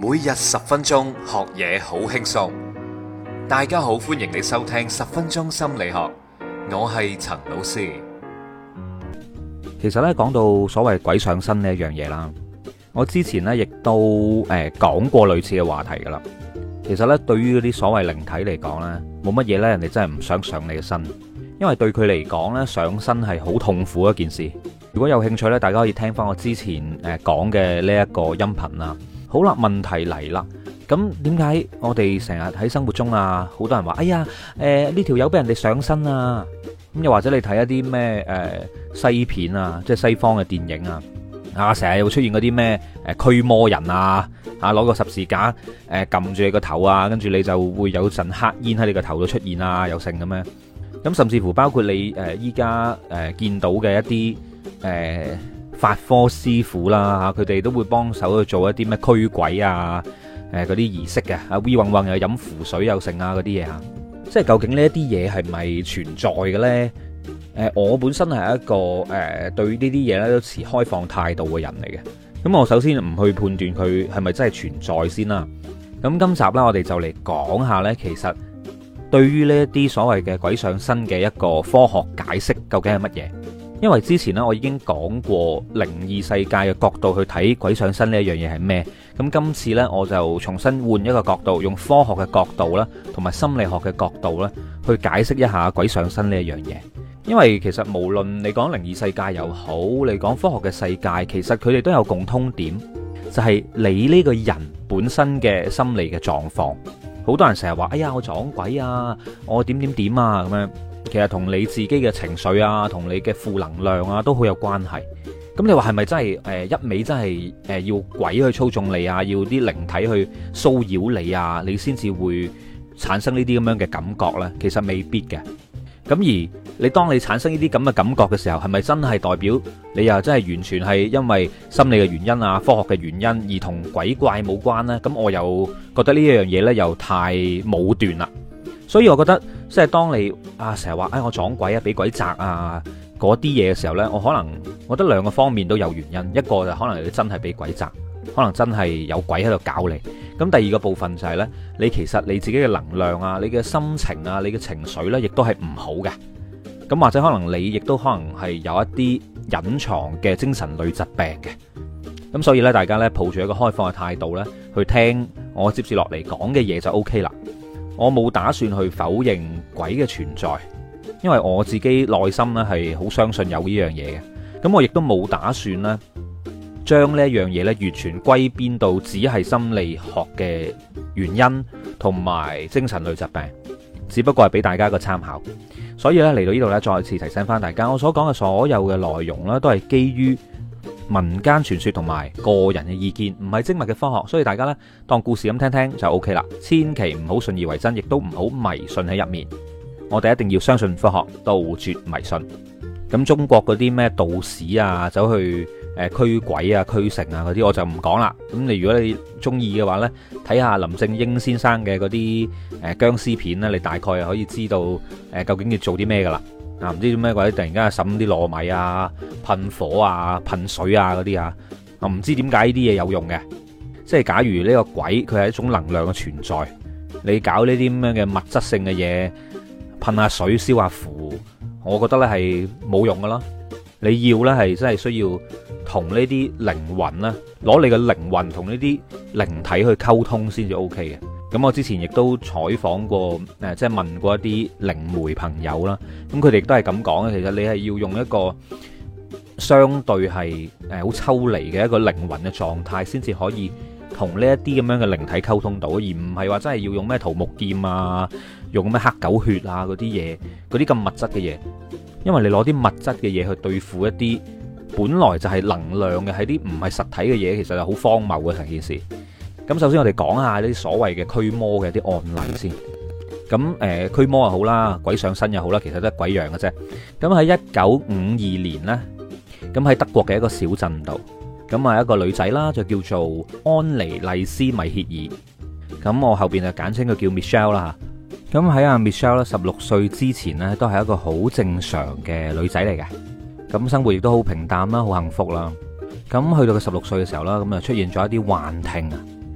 每日10分鐘學嘢好輕鬆。大家好，歡迎你收聽10分鐘心理學，我係陳老師。 其實咧，講到所謂鬼上身呢一樣嘢啦，我之前咧亦都講過類似嘅話題噶啦。其實咧，對於嗰啲所謂靈體嚟講咧，冇乜嘢咧，人哋真係唔想上你嘅身，因為對佢嚟講咧，上身係好痛苦一件事。如果有興趣咧，大家可以聽翻我之前講嘅呢一個音頻啦。好啦，問題嚟啦，咁點解我哋成日喺生活中啊，好多人話，哎呀，呢條友俾人哋上身啊，咁又或者你睇一啲咩西片啊，即係西方嘅電影啊，成日會出現嗰啲咩驅魔人啊，攞個十字架撳住你個頭啊，跟住你就會有陣黑煙喺你個頭度出現啊，有剩咁樣。咁甚至乎包括你依家見到嘅一啲法科師傅啦，佢哋都會幫手去做一啲咩驅鬼啊，嗰啲儀式嘅，V 運運又飲符水又剩啊嗰啲嘢啊，即係究竟呢一啲嘢係咪存在嘅咧？我本身係一個對呢啲嘢咧都持開放態度嘅人嚟嘅。咁我首先唔去判斷佢係咪真係存在先啦。咁今集呢，我哋就嚟講下呢，其實對於呢一啲所謂嘅鬼上身嘅一個科學解釋究竟係乜嘢？因為之前呢，我已經講過靈異世界嘅角度去睇鬼上身呢一樣嘢係咩。咁今次呢，我就重新換一個角度，用科學嘅角度啦，同埋心理學嘅角度啦，去解釋一下鬼上身呢一樣嘢。因為其實無論你講靈異世界又好，你講科學嘅世界，其實佢哋都有共通點，就係你呢個人本身嘅心理嘅狀況。好多人成日話，哎呀，我撞鬼啊，我點點點啊咁樣。其實同你自己嘅情緒啊，同你嘅負能量啊，都好有關係。咁你話係咪真係一味真係要鬼去操縱你啊，要啲靈體去騷擾你啊，你先至會產生呢啲咁樣嘅感覺呢？其實未必嘅。咁而你當你產生呢啲咁嘅感覺嘅時候，係咪真係代表你又真係完全係因為心理嘅原因啊、科學嘅原因而同鬼怪冇關呢？咁我又覺得呢一樣嘢呢又太武斷啦。所以我覺得即係當你成日話我撞鬼啊、俾鬼責啊嗰啲嘢嘅時候呢，我覺得兩個方面都有原因。一個就可能你真係俾鬼責，可能真係有鬼喺度搞你。咁第二個部分就係呢，你其實你自己嘅能量啊、你嘅心情啊、你嘅情緒呢，亦都係唔好嘅。咁或者可能你亦都可能係有一啲隱藏嘅精神類疾病嘅。咁所以呢，大家呢，抱住一個開放嘅態度呢，去聽我接住落嚟講嘅嘢就 OK 啦。我冇打算去否認鬼嘅存在，因為我自己內心呢係好相信有呢樣嘢嘅。咁我亦都冇打算呢將呢一樣嘢呢完全歸邊到只係心理學嘅原因同埋精神類疾病，只不過係俾大家一個參考。所以呢，嚟到呢度呢，再次提醒翻大家，我所講嘅所有嘅內容呢，都係基於民間傳說同埋個人嘅意見，唔係精密嘅科學，所以大家呢，當故事咁聽聽就 OK 啦，千祈唔好信以為真，亦都唔好迷信喺入面。我哋一定要相信科學，杜絕迷信。咁中國嗰啲咩道士啊，走去驅鬼啊、驅神啊嗰啲，我就唔講啦。咁你如果你中意嘅話呢，睇下林正英先生嘅嗰啲僵屍片呢，你大概可以知道究竟要做啲咩噶啦。唔知做咩鬼，突然間滲啲糯米啊、噴火啊、噴水啊嗰啲啊，我唔知點解呢啲嘢有用嘅。即係假如呢個鬼佢係一種能量嘅存在，你搞呢啲咁樣嘅物質性嘅嘢，噴下水、燒下符，我覺得呢係冇用噶啦。你要呢係真係需要同呢啲靈魂啦，攞你嘅靈魂同呢啲靈體去溝通先至 OK 嘅。咁我之前亦都採訪過，即係問過一啲靈媒朋友啦，咁佢哋亦都係咁講嘅。其實你係要用一個相對係好抽離嘅一個靈魂嘅狀態，先至可以同呢一啲咁樣嘅靈體溝通到，而唔係話真係要用咩桃木劍啊，用咩黑狗血啊嗰啲嘢，嗰啲咁物質嘅嘢。因為你攞啲物質嘅嘢去對付一啲本來就係能量嘅，係啲唔係實體嘅嘢，其實係好荒謬嘅成件事。咁首先我哋講下呢啲所謂嘅驅魔嘅啲案例先。咁驅魔又好啦，鬼上身又好啦，其實都係鬼樣嘅啫。咁喺1952年呢，咁喺德國嘅一個小鎮度，咁啊一個女仔啦，就叫做安妮麗絲米歇爾。咁我後邊就簡稱佢叫 Michelle 啦。咁喺阿 Michelle 咧16歲之前呢，都係一個好正常嘅女仔嚟嘅。咁生活亦都好平淡啦，好幸福啦。咁去到佢16歲嘅時候啦，咁啊出現咗一啲幻聽啊。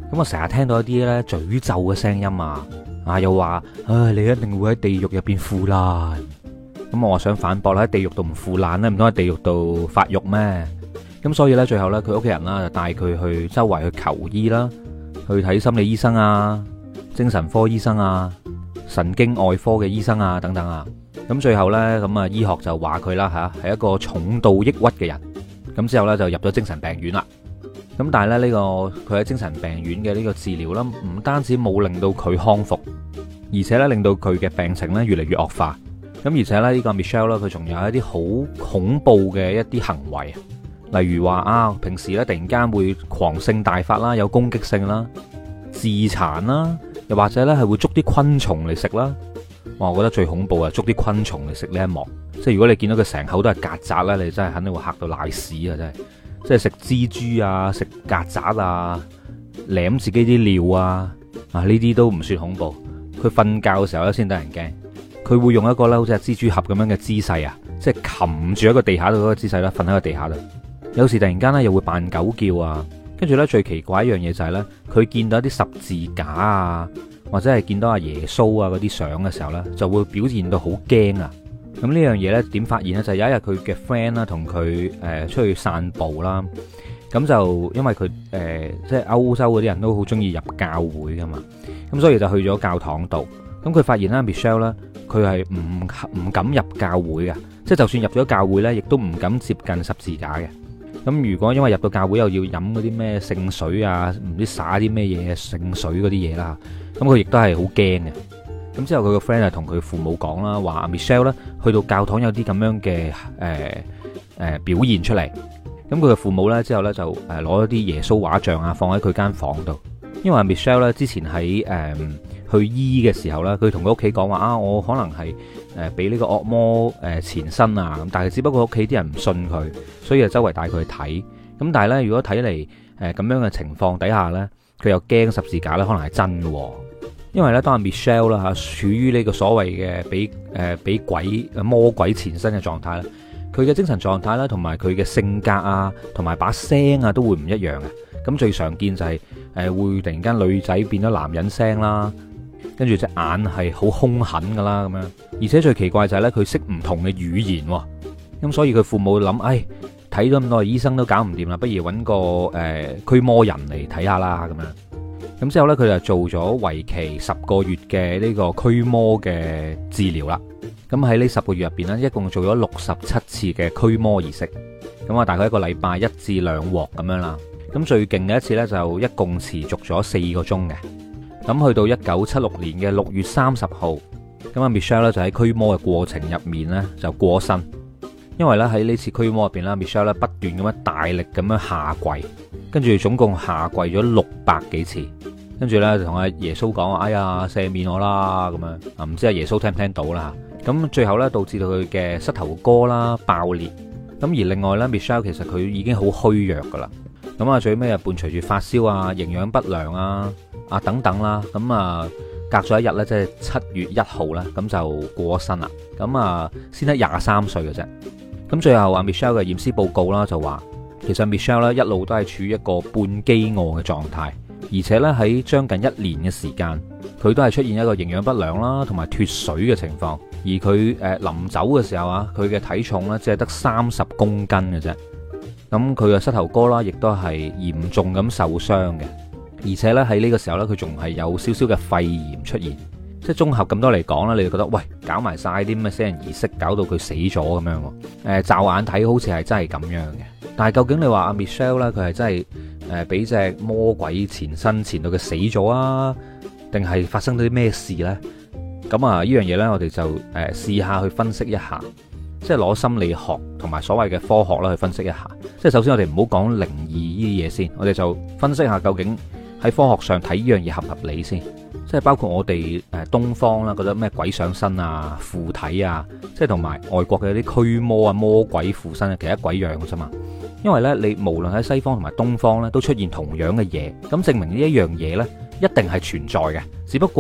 咁我成日聽到一啲咧詛咒嘅聲音啊，又話唉，你一定會喺地獄入邊腐爛。咁我話想反駁啦，喺地獄度唔腐爛咧，唔通喺地獄度發育咩？咁所以咧，最後咧，佢屋企人啦就帶佢去周圍去求醫啦，去睇心理醫生啊、精神科醫生啊、神經外科嘅醫生啊等等啊。咁最後咧，咁啊醫學就話佢啦吓，係一個重度抑鬱嘅人。咁之後咧就入咗精神病院啦。咁但係咧呢個佢喺精神病院嘅呢個治療啦，唔單止冇令到佢康復，而且咧令到佢嘅病情咧越嚟越惡化。咁而且咧呢個 Michelle 咧，佢仲有一啲好恐怖嘅一啲行為，例如話啊，平時咧突然間會狂性大發啦，有攻擊性啦，自殘啦，又或者咧係會捉啲昆蟲嚟食啦。哇，我覺得最恐怖啊，捉啲昆蟲嚟食呢一幕，即係如果你見到佢成口都係曱甴咧，你真係肯定會嚇到瀨屎啊！真係，即係食蜘蛛啊，食曱甴啊，舐自己啲尿啊呢啲都唔算恐怖。佢瞓覺嘅時候咧先得人驚。佢會用一個咧好似係蜘蛛俠咁樣嘅姿勢啊，即係擒住一個地下度嗰個姿勢啦，瞓喺個地下度。有時突然間咧又會扮狗叫啊，跟住咧最奇怪一樣嘢就係咧，佢見到一啲十字架啊，或者係見到阿耶穌啊嗰啲相嘅時候咧，就會表現到好驚啊。咁呢樣嘢咧點發現咧？就係有一日佢嘅 friend 啦同佢出去散步啦，咁就因為佢即係歐洲嗰啲人都好中意入教會噶嘛，咁所以就去咗教堂度。咁佢發現啦 Michelle 咧，佢係唔敢入教會嘅，即係就算入咗教會咧，亦都唔敢接近十字架嘅。咁如果因為入到教會又要飲嗰啲咩聖水啊，唔知灑啲咩嘢聖水嗰啲嘢啦，咁佢亦都係好驚嘅。咁之後佢個 friend 就同佢父母講啦，話 Michelle 咧去到教堂有啲咁樣嘅表現出嚟。咁佢嘅父母咧之後咧就攞一啲耶穌畫像啊放喺佢間房度，因為 Michelle 咧之前喺去醫嘅時候咧，佢同佢屋企講話啊，我可能係俾呢個惡魔纏身啊，咁但係只不過屋企啲人唔信佢，所以就周圍帶佢去睇。咁但係咧，如果睇嚟咁樣嘅情況底下咧，佢又驚十字架咧可能係真嘅，因為咧當阿 Michelle 啦嚇處於呢個所謂嘅俾魔鬼纏身嘅狀態咧，佢嘅精神狀態啦，同埋佢嘅性格啊，同埋把聲啊都會唔一樣嘅。咁最常見就係會突然間女仔變咗男人聲啦。跟住隻眼係好兇狠噶啦，咁樣，而且最奇怪就係咧，佢識唔同嘅語言，咁所以佢父母諗，睇咗咁多醫生都搞唔掂啦，不如揾個驅魔人嚟睇下啦，咁樣。咁之後咧，佢就做咗為期10個月嘅呢個驅魔嘅治療啦。咁喺呢10個月入邊咧，一共做咗67次嘅驅魔儀式。咁啊，大概一個禮拜1至2鑊咁樣啦。咁最勁嘅一次咧，就一共持續咗4個鐘嘅。咁去到1976年嘅6月30號，咁阿 Michelle 咧就喺驅魔嘅過程入面咧就過身，因為咧喺呢次驅魔入邊啦 Michelle 咧不斷咁樣大力咁樣下跪，跟住總共下跪咗600幾次，跟住咧同阿耶穌講哎呀赦免我啦咁樣，啊唔知阿耶穌聽唔聽到啦，咁最後咧導致到佢嘅膝頭哥啦爆裂，咁而另外咧 Michelle 其實佢已經好虛弱噶啦，咁啊最尾啊伴隨住發燒啊、營養不良啊等等啦，咁啊隔咗一日咧，即係7月1號啦，咁就過咗身啦。咁啊先得23歲嘅啫。咁最後阿 Michelle 嘅驗屍報告啦就話，其實 Michelle 咧一路都係處於一個半飢餓嘅狀態，而且咧喺將近1年嘅時間，佢都係出現一個營養不良啦，同埋脫水嘅情況。而佢臨走嘅時候啊，佢嘅體重咧只係得30公斤嘅啫。咁佢嘅膝頭哥啦，亦都係嚴重咁受傷嘅。而且咧喺呢個時候咧，佢仲係有少少嘅肺炎出現，即係綜合咁多嚟講咧，你就覺得喂，搞埋晒啲咁嘅死人儀式，搞到佢死咗咁樣喎。驟眼睇好似係真係咁樣嘅，但係究竟你話阿 Michelle 咧，佢係真係俾隻魔鬼纏身纏到佢死咗啊，定係發生咗啲咩事呢？咁啊，呢樣嘢呢，我哋就試下去分析一下，即係攞心理學同埋所謂嘅科學啦去分析一下。即係首先我哋唔好講靈異呢啲嘢先，我哋就分析下究竟喺科學上睇呢樣嘢合唔合理先，即係包括我哋東方啦，覺得咩鬼上身啊、附體啊，即係同埋外國嘅啲驅魔啊、魔鬼附身啊，其實一鬼樣嘅啫嘛。因為呢，你無論喺西方同埋東方呢，都出現同樣嘅嘢，咁證明呢一樣嘢呢，一定係存在嘅，只不過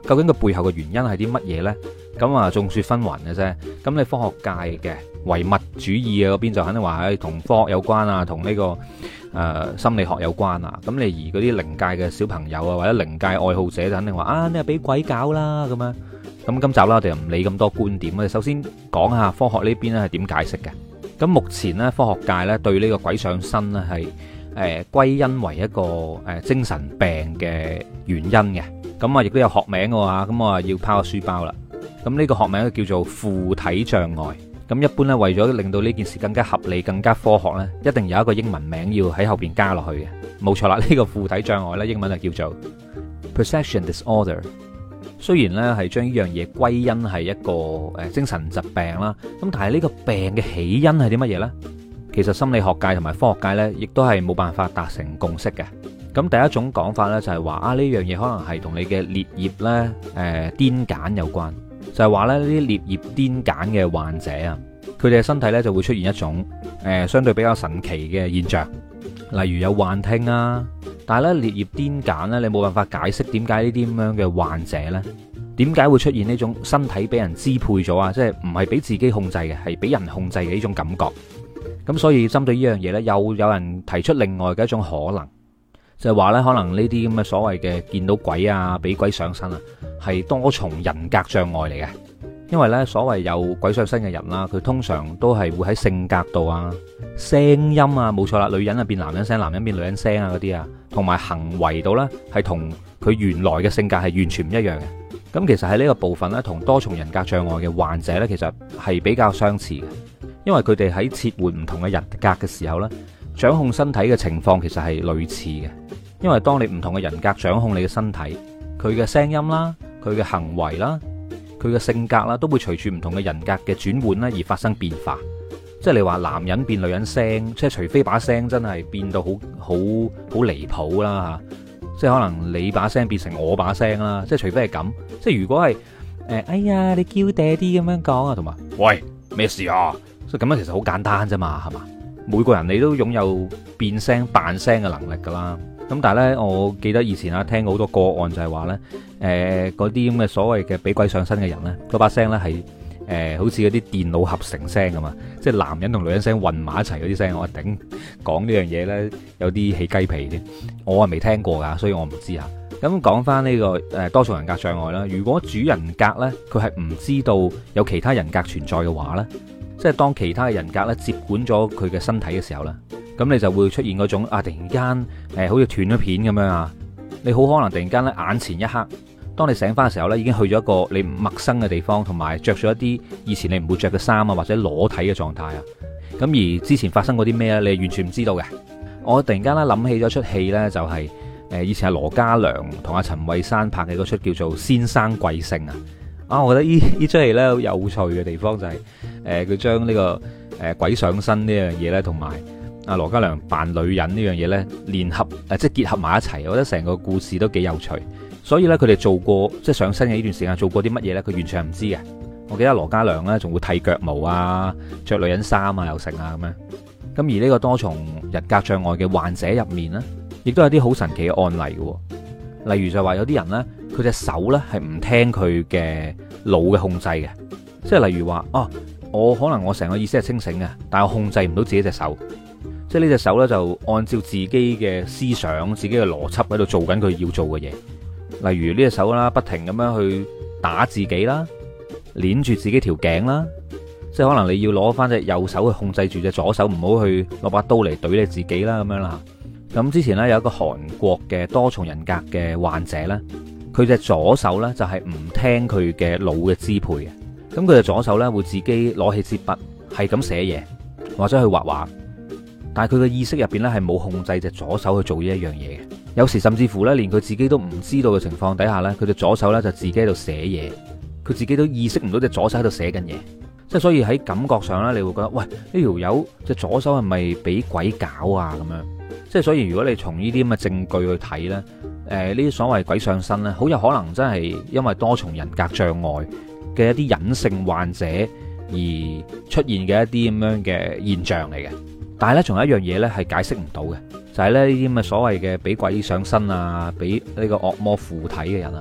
究竟個背後嘅原因係啲乜嘢呢？咁啊眾說紛紜嘅啫。咁你科學界嘅唯物主義嘅嗰邊就肯定話同科學有關啊，同呢個心理學有關啊。咁你而嗰啲靈界嘅小朋友啊，或者靈界愛好者就肯定話啊，你係俾鬼搞啦咁樣。咁今集啦，我哋又唔理咁多觀點，我哋首先講下科學呢邊咧係點解釋嘅。咁目前咧科學界咧對呢個鬼上身咧係歸因為一個精神病嘅原因嘅。咁啊亦都有學名嘅話，咁我要拋個書包啦。咁呢個學名叫做附體障礙。咁一般咧為咗令到呢件事更加合理、更加科學咧，一定有一個英文名要喺後邊加落去嘅。冇錯啦，呢個附體障礙咧英文就叫做 Possession Disorder。雖然咧係將呢樣嘢歸因係一個精神疾病啦，咁但係呢個病嘅起因係啲乜嘢呢？其實心理學界同埋科學界呢，亦都係冇辦法達成共識嘅。咁第一種講法呢，就係話啊，呢樣嘢可能係同你嘅顳葉呢癲癇有關，就係話咧呢啲顳葉癲癇嘅患者啊，佢哋嘅身體呢就會出現一種相對比較神奇嘅現象，例如有幻聽啊。但係咧，顳葉癲癇咧，你冇辦法解釋點解呢啲咁樣嘅患者咧，點解會出現呢種身體俾人支配咗啊？即係唔係俾自己控制嘅，係俾人控制嘅呢種感覺。咁所以針對呢樣嘢咧，又有人提出另外嘅一種可能，就係話咧，可能呢啲咁嘅所謂嘅見到鬼啊、俾鬼上身啊，係多重人格障礙嚟嘅。因為咧，所謂有鬼上身嘅人啦，佢通常都係會喺性格度啊、聲音啊，冇錯啦，女人啊變男人聲，男人變女人聲啊嗰啲啊，同埋行為度呢，係同佢原來嘅性格係完全唔一樣嘅。咁其實喺呢個部分呢，同多重人格障礙嘅患者呢，其實係比較相似嘅，因為佢哋喺切換唔同嘅人格嘅時候呢，掌控身體嘅情況其實係類似嘅。因為當你唔同嘅人格掌控你嘅身體，佢嘅聲音啦、佢嘅行為啦、佢嘅性格啦，都會隨住唔同嘅人格嘅轉換咧而發生變化。即係你話男人變女人聲，即係除非把聲真係變到好離譜啦嚇，即係可能你把聲變成我把聲啦，即係除非係咁。即係如果係哎呀你嬌嗲啲咁樣講啊，同埋喂咩事啊，所以咁樣其實好簡單啫嘛，係嘛？每個人你都擁有變聲扮聲嘅能力㗎啦。咁但係咧，我記得以前啊聽過好多個案就係話咧，嗰啲咁嘅所謂嘅俾鬼上身嘅人咧，嗰把聲咧係好似嗰啲電腦合成聲咁啊，即係男人同女人聲混埋一齊嗰啲聲，我頂講呢樣嘢咧有啲起雞皮添，我係未聽過㗎，所以我唔知啊。咁講翻呢個多重人格障礙啦，如果主人格咧佢係唔知道有其他人格存在嘅話咧，即係當其他嘅人格咧接管咗佢嘅身體嘅時候咧，咁你就會出現嗰種啊，突然間好似斷咗片咁樣啊！你好可能突然間咧眼前一黑，當你醒翻嘅時候咧，已經去咗一個你唔陌生嘅地方，同埋着咗一啲以前你唔會着嘅衫啊，或者裸體嘅狀態啊。咁而之前發生過啲咩咧，你完全唔知道嘅。我突然間咧諗起咗出戲呢，就係以前係羅嘉良同阿陳慧珊拍嘅嗰出叫做《先生貴姓》啊。啊，我覺得呢出戲咧好有趣嘅地方就係佢將呢個鬼上身呢樣嘢咧，同埋阿羅嘉良扮女人呢樣嘢呢，聯合即係結合埋一齊，我覺得成個故事都幾有趣。所以呢，佢哋做過即係上身嘅呢段時間做過啲乜嘢呢？佢完全係唔知嘅。我記得羅嘉良呢仲會剃腳毛啊，着女人衫啊，又成啊咁樣。咁而呢個多重人格障礙嘅患者入面呢，亦都有啲好神奇嘅案例嘅。例如就話有啲人呢，佢隻手呢係唔聽佢嘅腦嘅控制嘅，即係例如話我可能我成個意識係清醒嘅，但係我控制唔到自己隻手。即係呢隻手呢，就按照自己嘅思想、自己嘅邏輯喺度做緊佢要做嘅嘢。例如呢隻手啦，不停咁樣去打自己啦，捏住自己條頸啦。即係可能你要攞翻隻右手去控制住隻左手，唔好去攞把刀嚟懟你自己啦咁樣啦。咁之前呢，有一個韓國嘅多重人格嘅患者呢，佢隻左手呢，就係唔聽佢嘅腦嘅支配嘅。咁佢隻左手呢，會自己攞起支筆，係咁寫嘢或者去畫畫。但係佢嘅意識入邊咧係冇控制隻左手去做呢一樣嘢嘅，有時甚至乎咧連佢自己都唔知道嘅情況底下咧，佢隻左手咧就自己喺度寫嘢，佢自己都意識唔到隻左手喺度寫緊嘢，即係所以喺感覺上咧，你會覺得喂，呢條友隻左手係咪俾鬼搞啊咁樣？即係所以如果你從呢啲咁嘅證據去睇咧，呢啲所謂鬼上身咧，好有可能真係因為多重人格障礙嘅一啲隱性患者而出現嘅一啲咁樣嘅現象嚟嘅。但係咧，仲有一樣嘢咧係解釋唔到嘅，就係咧呢啲咁嘅所謂嘅俾鬼上身啊，俾呢個惡魔附體嘅人啊，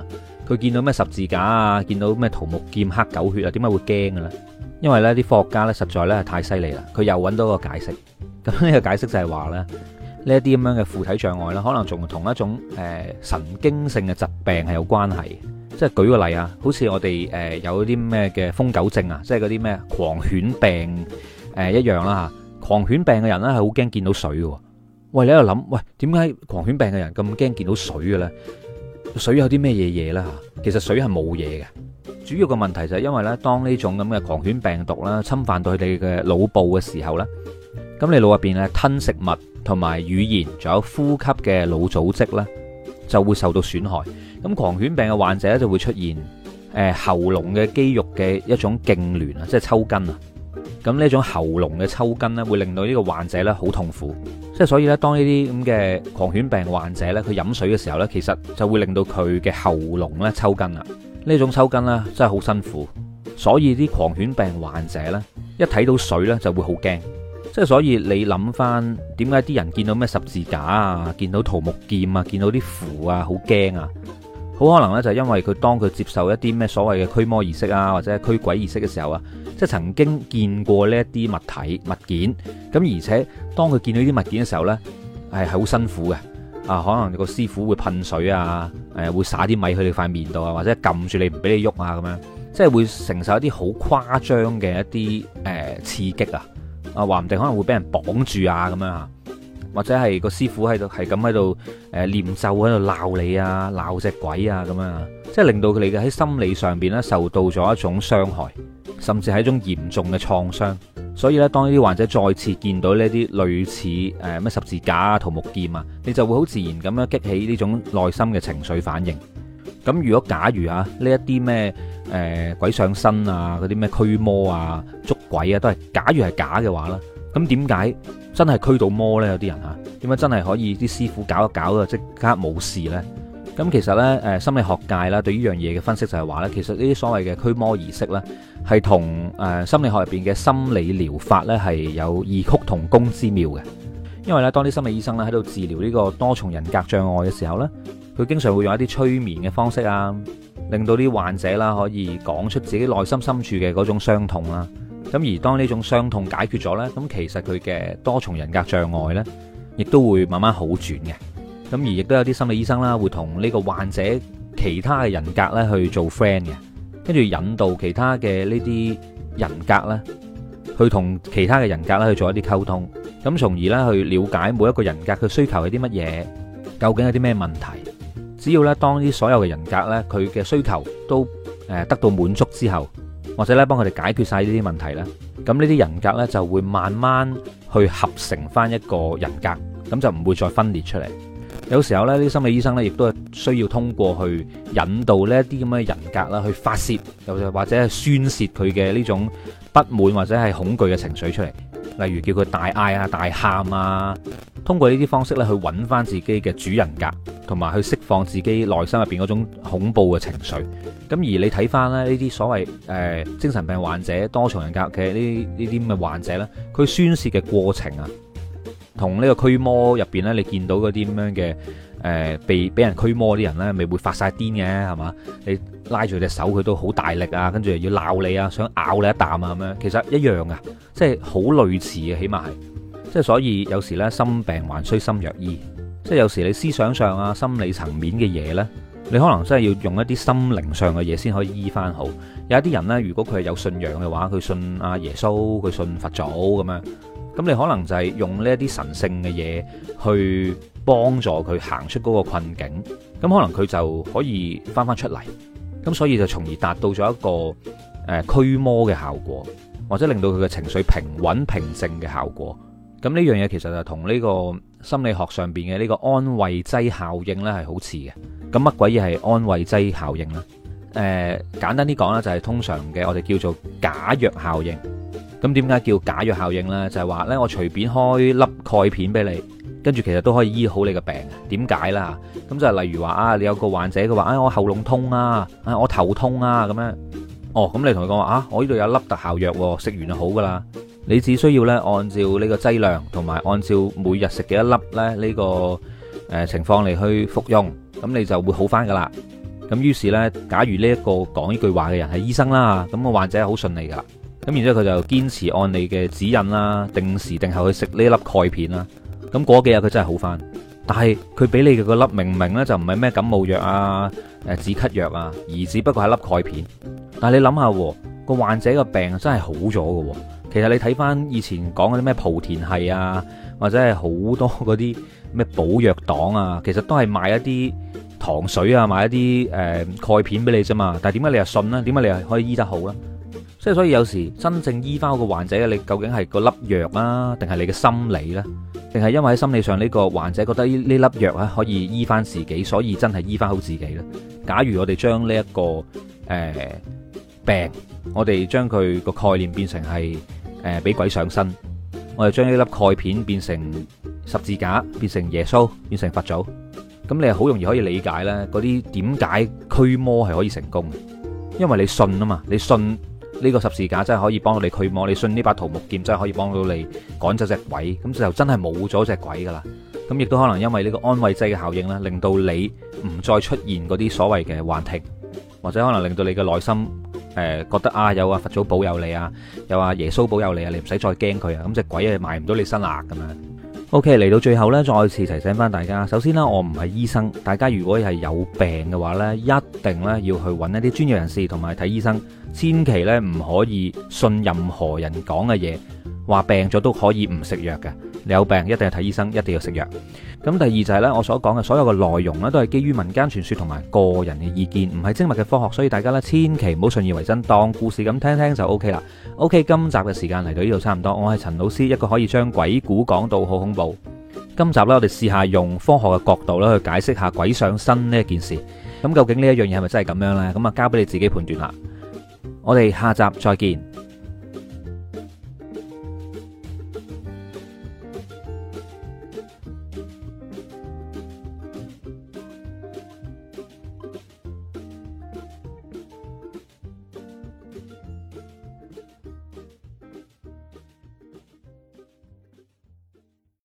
佢見到咩十字架啊，見到咩桃木劍、黑狗血啊，點解會驚嘅咧？因為咧啲科學家咧實在咧係太犀利啦，佢又揾到個解釋。咁呢個解釋就係話咧，呢一啲咁樣嘅附體障礙咧，可能仲同一種神經性嘅疾病係有關係。即係舉個例啊，好似我哋有啲咩嘅瘋狗症啊，即係嗰啲咩狂犬病一樣啦嚇。狂犬病嘅人咧係好驚見到水嘅。喂，你喺度諗，喂，點解狂犬病嘅人咁驚見到水嘅咧？水有啲咩嘢咧嚇？其實水係冇嘢嘅。主要嘅問題就係因為咧，當呢種咁嘅狂犬病毒啦侵犯到佢哋嘅腦部嘅時候咧，咁你腦入邊咧吞食物同埋語言，仲有呼吸嘅腦組織咧，就會受到損害。咁狂犬病嘅患者咧就會出現喉嚨嘅肌肉嘅一種痙攣啊，即係抽筋啊。咁呢種喉嚨嘅抽筋咧，會令到呢個患者咧好痛苦。即係所以咧，當呢啲咁嘅狂犬病患者咧，佢飲水嘅時候咧，其實就會令到佢嘅喉嚨咧抽筋啦。呢種抽筋咧真係好辛苦，所以啲狂犬病患者咧一睇到水咧就會好驚。即係所以你諗翻點解啲人見到咩十字架啊，見到桃木劍啊，見到啲符啊，好驚啊？好可能咧就係因為佢當佢接受一啲咩所謂嘅驅魔儀式啊，或者係驅鬼儀式嘅時候啊，即係曾經見過呢一啲物體物件，咁而且當佢見到呢啲物件嘅時候咧，係好辛苦嘅。啊，可能個師傅會噴水啊，會灑啲米去你塊面度啊，或者撳住你唔俾你喐啊，咁樣，即係會承受一啲好誇張嘅一啲刺激啊，話唔定可能會俾人綁住啊，咁樣啊，或者係個師傅喺度係咁喺度念咒喺度鬧你啊，鬧隻鬼啊，咁樣啊，即係令到佢哋嘅喺心理上邊咧受到咗一種傷害，甚至係一種嚴重嘅創傷。所以咧，當呢啲患者再次見到呢啲類似咩十字架啊、桃木劍啊，你就會好自然咁樣激起呢種內心嘅情緒反應。咁如果假如啊呢一啲咩鬼上身啊、嗰啲咩驅魔啊、捉鬼啊，都係假如係假嘅話啦，咁點解真係驅到魔呢？有啲人啊，點解真係可以啲師傅搞一搞就即刻冇事呢？咁其實呢，心理學界啦對呢樣嘢嘅分析就係話呢，其實呢啲所謂嘅驅魔儀式呢，係同心理學入邊嘅心理療法呢係有異曲同工之妙嘅。因為呢，當啲心理醫生咧喺度治療呢個多重人格障礙嘅時候呢，佢經常會用一啲催眠嘅方式啊，令到啲患者啦可以講出自己內心深處嘅嗰種傷痛啦。咁而當呢種傷痛解決咗呢，咁其實佢嘅多重人格障礙呢，亦都會慢慢好轉嘅。咁而亦都有啲心理醫生啦，會同呢個患者其他嘅人格咧去做 friend 嘅，跟住引導其他嘅呢啲人格咧，去同其他嘅人格咧去做一啲溝通，咁從而咧去了解每一個人格嘅需求係啲乜嘢，究竟有啲咩問題。只要咧當啲所有嘅人格咧佢嘅需求都得到滿足之後，或者咧幫佢哋解決晒呢啲問題咧，咁呢啲人格咧就會慢慢去合成翻一個人格，咁就唔會再分裂出嚟。有時候咧，啲心理醫生咧，亦都係需要通過去引導呢一啲咁嘅人格啦，去發泄，又或者係宣泄佢嘅呢種不滿或者係恐懼嘅情緒出嚟。例如叫佢大嗌啊、大喊啊，通過呢啲方式咧，去揾翻自己嘅主人格，同埋去釋放自己內心入邊嗰種恐怖嘅情緒。咁而你睇翻咧呢啲所謂精神病患者、多重人格嘅呢啲咁嘅患者咧，佢宣泄嘅過程啊，同呢個驅魔入邊咧，你見到嗰啲咁樣嘅被人驅魔啲人咧，咪會發晒癲嘅係嘛？你拉住隻手佢都好大力啊，跟住又要鬧你啊，想咬你一啖啊咁樣，其實一樣噶，即係好類似嘅，起碼係。即係所以有時咧，心病還需心藥醫。即係有時你思想上啊、心理層面嘅嘢咧，你可能真係要用一啲心靈上嘅嘢先可以醫翻好。有一啲人咧，如果佢係有信仰嘅話，佢信阿耶穌，佢信佛祖咁樣。咁你可能就係用呢一啲神聖嘅嘢去幫助佢行出嗰個困境，咁可能佢就可以翻翻出嚟，咁所以就從而達到咗一個驅魔嘅效果，或者令到佢嘅情緒平穩平靜嘅效果。咁呢樣嘢其實就同呢個心理學上邊嘅呢個安慰劑效應呢係好似嘅。咁乜鬼嘢係安慰劑效應呢？簡單啲講啦，就係通常嘅我哋叫做假藥效應。咁點解叫假藥效應呢？就係話呢，我隨便開粒鈣片俾你，跟住其實都可以醫好你嘅病。點解啦？咁就係例如話啊，你有個患者佢話我喉嚨痛啊，我頭痛啊咁樣。哦，咁你同佢講話啊，我呢度有粒特效藥，食完就好噶啦。你只需要呢，按照呢個劑量同埋按照每日食幾多粒呢，呢個情況嚟去服用，咁你就會好翻噶啦。 咁於是呢，假如呢一個講呢句話嘅人係醫生啦，咁個患者係好順利噶啦。咁然之後佢就堅持按你嘅指引啦，定時定候去食呢粒鈣片啦。咁過幾日佢真係好翻。但係佢俾你嘅個粒明明呢就唔係咩感冒藥啊、止咳藥啊，而只不過係粒鈣片。但係你諗下，個患者個病真係好咗嘅。其實你睇翻以前講嗰啲咩莆田系啊，或者係好多嗰啲咩寶藥黨啊，其實都係賣一啲糖水啊，賣一啲鈣片俾你啫嘛。但係點解你又信呢？點解你又可以醫得好呢？即係所以有時真正醫翻個患者，你究竟係個粒藥啊，定係你嘅心理呢？定係因為喺心理上呢個患者覺得呢粒藥可以醫翻自己，所以真係醫翻好自己呢？假如我哋將呢一個病，我哋將佢個概念變成係俾鬼上身，我哋將呢粒鈣片變成十字架，變成耶穌，變成佛祖，咁你係好容易可以理解呢嗰啲點解驅魔係可以成功嘅，因為你信啊嘛，你信呢個十字架真係可以幫到你驅魔，你信呢把桃木劍真係可以幫到你趕走隻鬼，咁就真係冇咗隻鬼噶啦。咁亦都可能因為呢個安慰劑嘅效應咧，令到你唔再出現嗰啲所謂嘅幻聽，或者可能令到你嘅內心覺得啊，有啊佛祖保佑你啊，有啊耶穌保佑你啊，你唔使再驚佢啊，咁隻鬼啊埋唔到你身啦咁樣。OK， 嚟到最後呢，再次提醒翻大家，首先呢，我唔係醫生，大家如果係有病嘅話呢，一定呢要去揾一啲專業人士同埋睇醫生，千祈呢唔可以信任何人講嘅嘢，話病咗都可以唔食藥嘅。你有病一定要睇醫生，一定要食藥。咁第二就係呢，我所講嘅所有嘅內容呢，都係基於民間傳說同埋個人嘅意見，唔係精密嘅科學，所以大家呢千祈唔好信以為真，當故事咁聽聽就 OK 啦。OK， 今集嘅時間嚟到呢度差唔多，我係陳老師，一個可以將鬼故講到好恐怖。今集呢，我哋試下用科學嘅角度咧去解釋下鬼上身呢一件事。咁究竟呢一樣嘢係咪真係咁樣呢？咁啊交俾你自己判斷啦。我哋下集再見。